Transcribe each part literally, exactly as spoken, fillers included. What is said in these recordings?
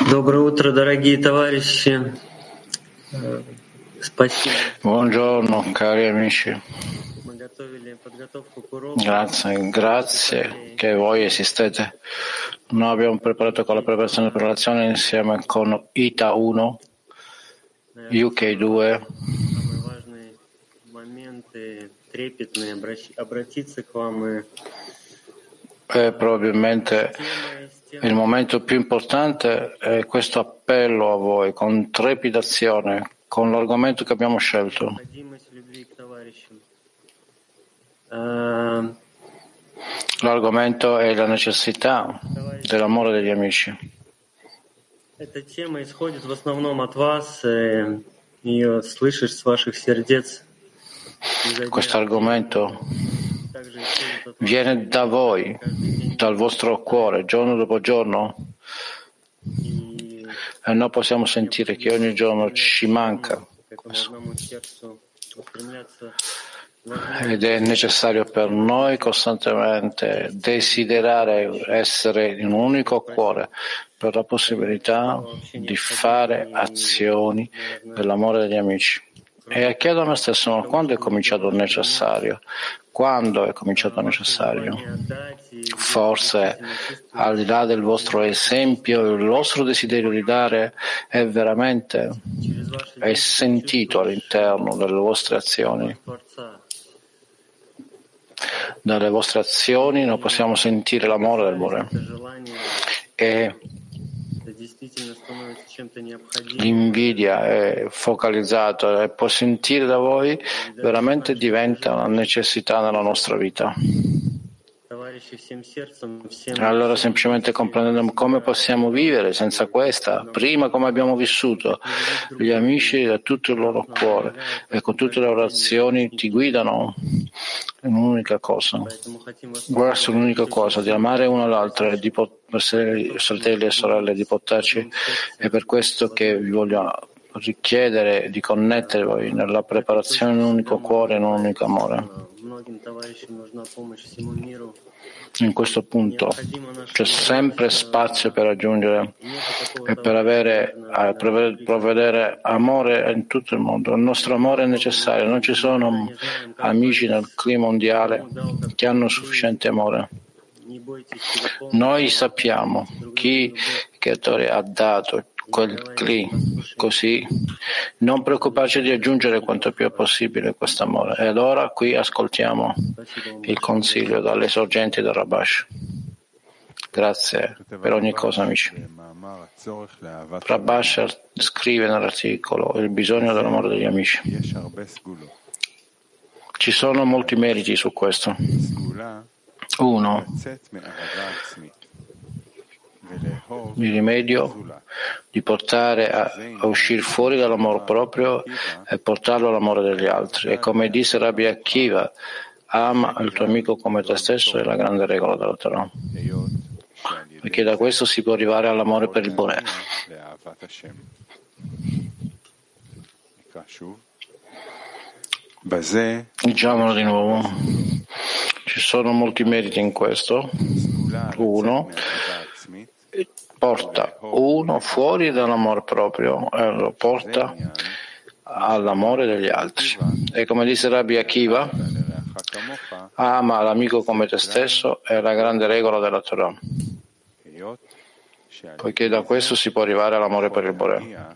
Доброе утро, дорогие товарищи. Э, Спасибо. Buongiorno cari amici, Мы готовили подготовку к уроку. grazie, grazie che voi esistete. Noi abbiamo preparato con la preparazione per la lezione insieme con I T A uno, U K due, Самые важные моменты, трепетные, обращ- обратиться к вам и e probabilmente тема из il темы momento più importante è questo appello a voi con trepidazione, con l'argomento che abbiamo scelto. необходимость любви к товарищам. Э, L'argomento è la necessità dell'amore degli amici. Эта тема исходит в основном от вас, и ее слышишь с ваших сердец. изо дня Questo в день. argomento Также исходит от вас viene da voi, каждый день. dal vostro cuore, giorno dopo giorno, И e noi possiamo sentire che ogni giorno ci manca к этому questo. одному сердцу устремляться Ed è necessario per noi costantemente desiderare essere in un unico cuore per la possibilità di fare azioni per l'amore degli amici. E chiedo a me stesso, ma quando è cominciato il necessario? Quando è cominciato il necessario? Forse, al di là del vostro esempio, il vostro desiderio di dare è veramente è sentito all'interno delle vostre azioni. Dalle vostre azioni noi possiamo sentire l'amore del Bore. E l'invidia è focalizzata e può sentire da voi, veramente diventa una necessità nella nostra vita. Allora semplicemente comprendendo come possiamo vivere senza questa, prima come abbiamo vissuto, gli amici da tutto il loro cuore e con tutte le loro azioni ti guidano in un'unica cosa, verso l'unica cosa, di amare uno l'altro e di essere fratelli e sorelle, di poterci. È per questo che vi voglio richiedere di connettervi nella preparazione in un unico cuore e in un unico amore. In questo punto c'è sempre spazio per raggiungere e per avere, per provvedere amore in tutto il mondo. Il nostro amore è necessario, non ci sono amici nel clima mondiale che hanno sufficiente amore. Noi sappiamo chi il creatore ha dato quel cli, così non preoccuparci di aggiungere quanto più è possibile questo amore. E allora qui ascoltiamo il consiglio dalle sorgenti del Rabash. Grazie per ogni cosa, amici. Rabash scrive nell'articolo il bisogno dell'amore degli amici. Ci sono molti meriti su questo. Uno, il rimedio di portare a, a uscire fuori dall'amore proprio e portarlo all'amore degli altri. E come disse Rabbi Akiva, ama il tuo amico come te stesso è la grande regola della Torah. Perché da questo si può arrivare all'amore per il Bore. Diciamolo di nuovo. Ci sono molti meriti in questo. Uno, porta uno fuori dall'amore proprio e lo porta all'amore degli altri. E come disse Rabbi Akiva, ama l'amico come te stesso è la grande regola della Torah, poiché da questo si può arrivare all'amore per il Bore.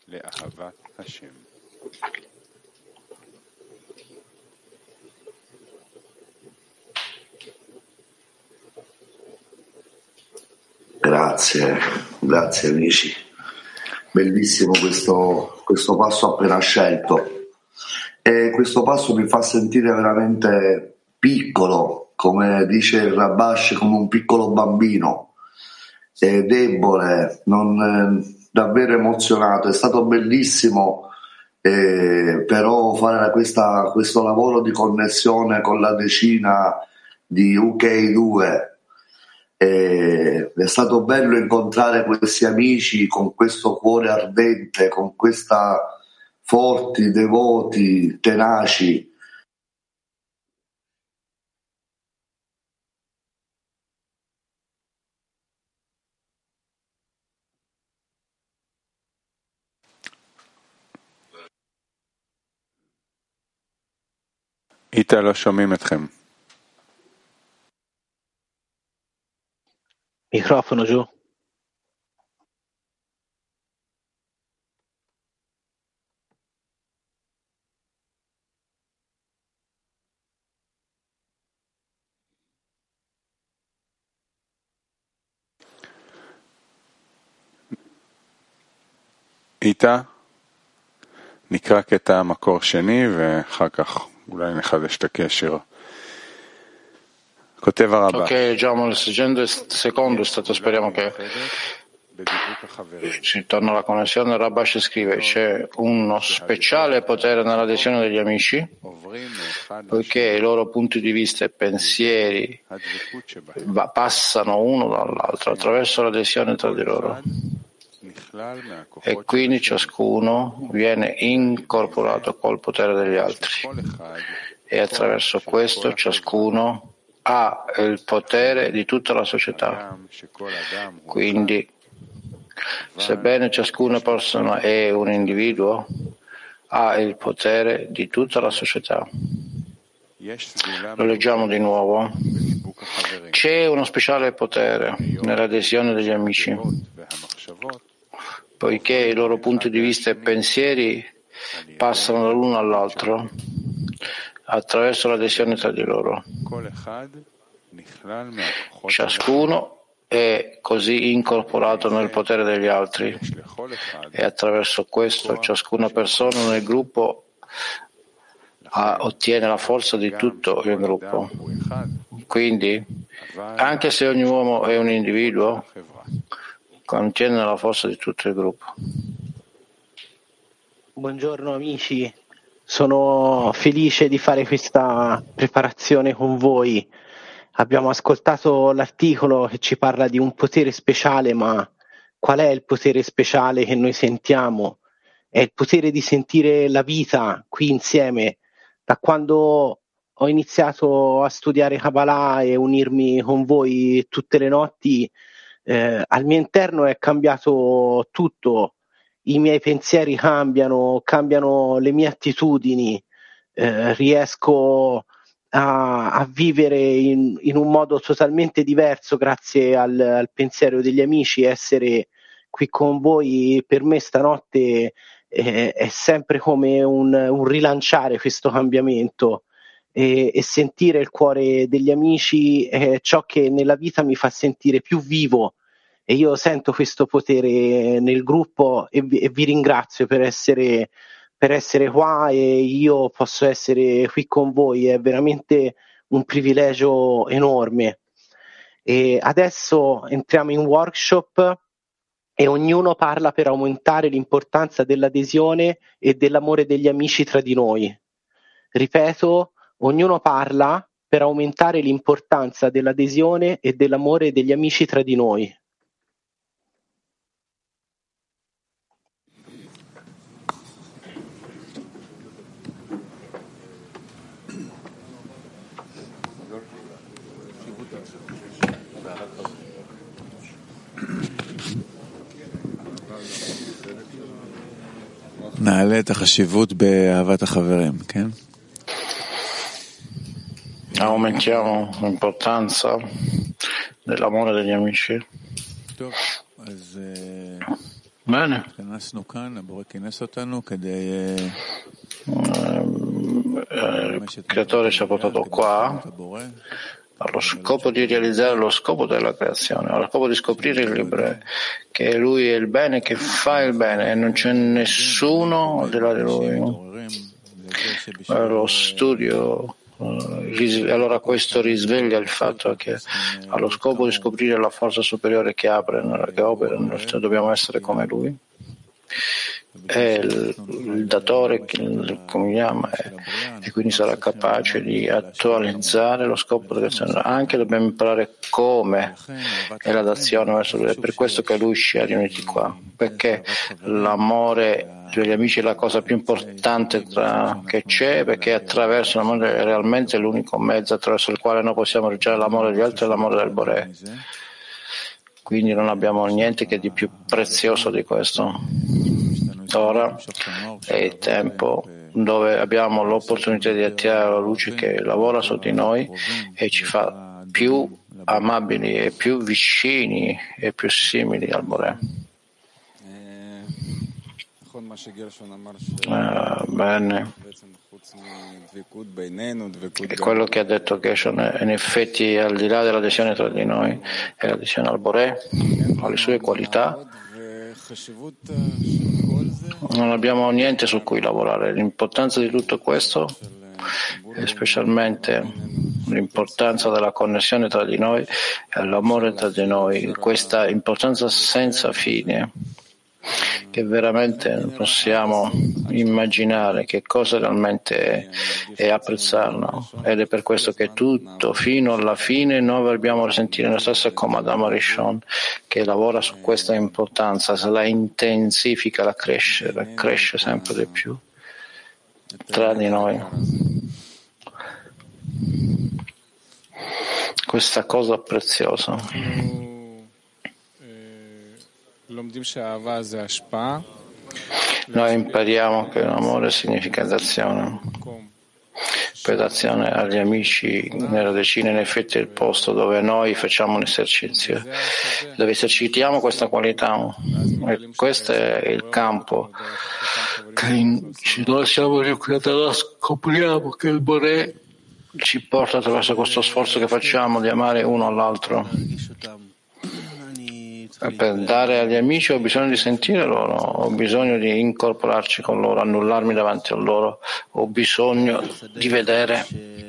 Grazie, grazie amici. Bellissimo questo, questo passo appena scelto. E questo passo mi fa sentire veramente piccolo, come dice il Rabash, come un piccolo bambino, e debole, non, eh, davvero emozionato. È stato bellissimo, eh, però fare questa, questo lavoro di connessione con la decina di U K due. Eh, è stato bello incontrare questi amici con questo cuore ardente, con questa forti, devoti, tenaci. איתה לא שומעים אתכם. Microfono giù. איתה נקרא קטע מקור שני ואחר כך אולי נחדש את הקשר. כותב הרבה. Ok, leggiamo il secondo stato, speriamo che si torna alla connessione. Rabash scrive: c'è uno speciale potere nell'adesione degli amici, poiché i loro punti di vista e pensieri va, passano uno dall'altro attraverso l'adesione tra di loro, e quindi ciascuno viene incorporato col potere degli altri, e attraverso questo ciascuno ha il potere di tutta la società. Quindi, sebbene ciascuna persona è un individuo, ha il potere di tutta la società. Lo leggiamo di nuovo. C'è uno speciale potere nell'adesione degli amici, poiché i loro punti di vista e pensieri passano dall'uno all'altro attraverso l'adesione tra di loro. Ciascuno è così incorporato nel potere degli altri, e attraverso questo ciascuna persona nel gruppo ha, ottiene la forza di tutto il gruppo. Quindi, anche se ogni uomo è un individuo, contiene la forza di tutto il gruppo. Buongiorno amici. Sono felice di fare questa preparazione con voi. Abbiamo ascoltato l'articolo che ci parla di un potere speciale, ma qual è il potere speciale che noi sentiamo? È il potere di sentire la vita qui insieme. Da quando ho iniziato a studiare Kabbalah e unirmi con voi tutte le notti, eh, al mio interno è cambiato tutto. I miei pensieri cambiano, cambiano le mie attitudini, eh, riesco a, a vivere in, in un modo totalmente diverso grazie al, al pensiero degli amici. Essere qui con voi per me stanotte eh, è sempre come un, un rilanciare questo cambiamento, e, e sentire il cuore degli amici è ciò che nella vita mi fa sentire più vivo. E io sento questo potere nel gruppo e vi, e vi ringrazio per essere, per essere qua, e io posso essere qui con voi, è veramente un privilegio enorme. E adesso entriamo in workshop e ognuno parla per aumentare l'importanza dell'adesione e dell'amore degli amici tra di noi. Ripeto, ognuno parla per aumentare l'importanza dell'adesione e dell'amore degli amici tra di noi. נעלה את החשיבות באהבת החברים, כן? Aumentiamo l'importanza dell'amore degli amici. טוב, אז Bene. התכנסנו כאן, הבורא כינס אותנו כדי Il creatore ci ha portato qua allo scopo di realizzare lo scopo della creazione, allo scopo di scoprire il libro, che lui è il bene, che fa il bene e non c'è nessuno al di là di lui. Lo studio, allora questo risveglia il fatto che allo scopo di scoprire la forza superiore che apre, che opera, dobbiamo essere come lui. È il, il datore che come chiama, e, e quindi sarà capace di attualizzare lo scopo della creazione. Anche dobbiamo imparare come è la dazione verso lui. È per questo che lui ci ha riuniti qua, perché l'amore degli amici è la cosa più importante tra, che c'è, perché attraverso l'amore è realmente l'unico mezzo attraverso il quale noi possiamo ricevere l'amore degli altri e l'amore del Boré. Quindi non abbiamo niente che di più prezioso di questo. Ora è il tempo dove abbiamo l'opportunità di attirare la luce che lavora su di noi e ci fa più amabili e più vicini e più simili al Boré. Uh, bene. E quello che ha detto Gershon è in effetti al di là dell'adesione tra di noi è l'adesione al Boré, alle sue qualità. Non abbiamo niente su cui lavorare. L'importanza di tutto questo e specialmente l'importanza della connessione tra di noi e l'amore tra di noi, questa importanza senza fine che veramente non possiamo immaginare che cosa realmente è e apprezzarlo, ed è per questo che tutto fino alla fine noi dobbiamo risentire la stessa come Adam Arishon che lavora su questa importanza, se la intensifica, la cresce, la cresce sempre di più tra di noi. Questa cosa preziosa. Noi impariamo che l'amore significa d'azione. Per d'azione agli amici nella decina in effetti è il posto dove noi facciamo un esercizio, dove esercitiamo questa qualità. E questo è il campo che noi siamo qui a terra, scopriamo che il Boré ci porta attraverso questo sforzo che facciamo di amare uno all'altro. E per dare agli amici ho bisogno di sentire loro, ho bisogno di incorporarci con loro, annullarmi davanti a loro, ho bisogno di vedere.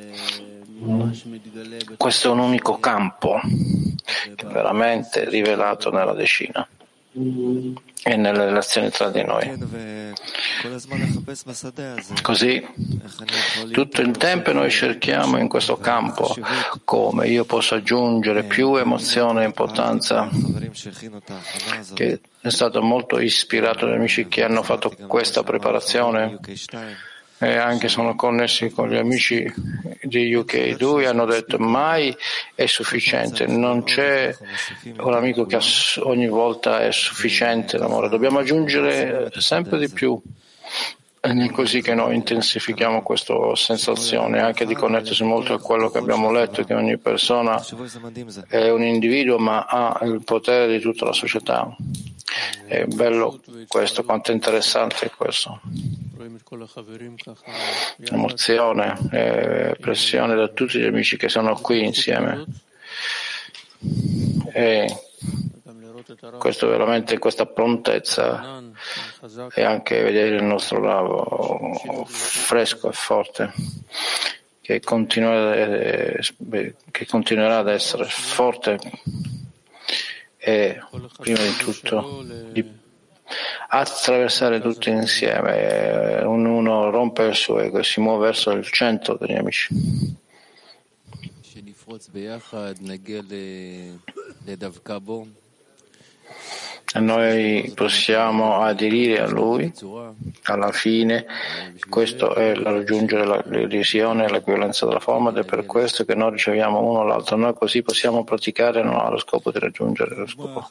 Questo è un unico campo che è veramente rivelato nella decina e nelle relazioni tra di noi. Così tutto il tempo noi cerchiamo in questo campo come io posso aggiungere più emozione e importanza, che è stato molto ispirato dagli amici che hanno fatto questa preparazione e anche sono connessi con gli amici di U K due, hanno detto mai è sufficiente, non c'è un amico che ogni volta è sufficiente l'amore, dobbiamo aggiungere sempre di più. Ed è così che noi intensifichiamo questa sensazione anche di connettersi molto a quello che abbiamo letto, che ogni persona è un individuo ma ha il potere di tutta la società. È bello questo, quanto è interessante questo. Emozione e pressione da tutti gli amici che sono qui insieme. E questo veramente, questa prontezza e anche vedere il nostro lavoro fresco e forte che continuerà, che continuerà ad essere forte e prima di tutto di attraversare tutti insieme, ognuno rompe il suo ego e si muove verso il centro degli amici. E noi possiamo aderire a lui alla fine. Questo è raggiungere la l'illusione e l'equivalenza della forma, ed è per questo che noi riceviamo uno l'altro. Noi così possiamo praticare, non ha lo scopo di raggiungere lo scopo.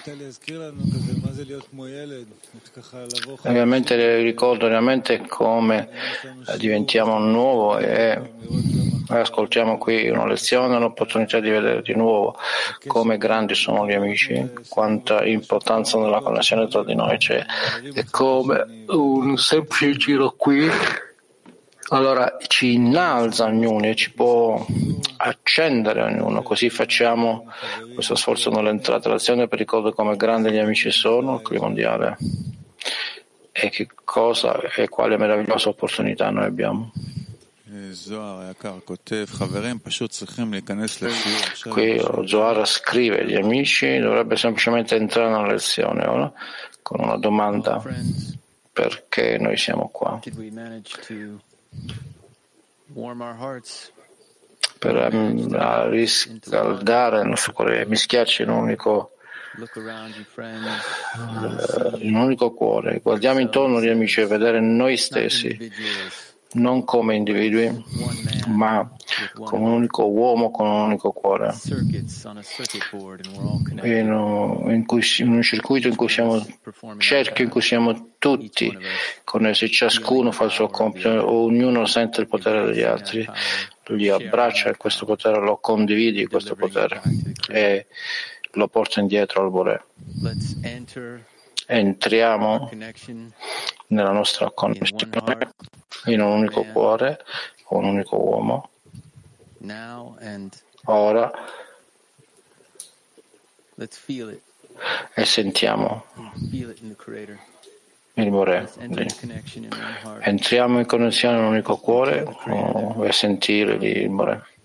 Ovviamente ricordo realmente come diventiamo nuovo e ascoltiamo qui una lezione, un'opportunità di vedere di nuovo come grandi sono gli amici, quanta importanza nella connessione tra di noi c'è, e come un semplice giro qui allora ci innalza ognuno e ci può accendere ognuno. Così facciamo questo sforzo nell'entrata all'azione per ricordare come grandi gli amici sono, il clima mondiale, e che cosa e quale meravigliosa opportunità noi abbiamo. Qui Zohar scrive: gli amici dovrebbe semplicemente entrare nella lezione ora con una domanda: perché noi siamo qua? Per um, riscaldare il nostro cuore, mischiarci in un unico in un unico cuore. Guardiamo intorno gli amici e vedere noi stessi non come individui, ma come un unico uomo con un unico cuore, in un, in cui, in un circuito in cui siamo, cerchio in cui siamo tutti connessi, ciascuno fa il suo compito, ognuno sente il potere degli altri, li abbraccia e questo potere lo condividi, questo potere, e lo porta indietro al Bore. Entriamo nella nostra connessione in un unico cuore, con un unico uomo. Ora e sentiamo il Bore. Entriamo in connessione in un unico cuore e sentire il Bore.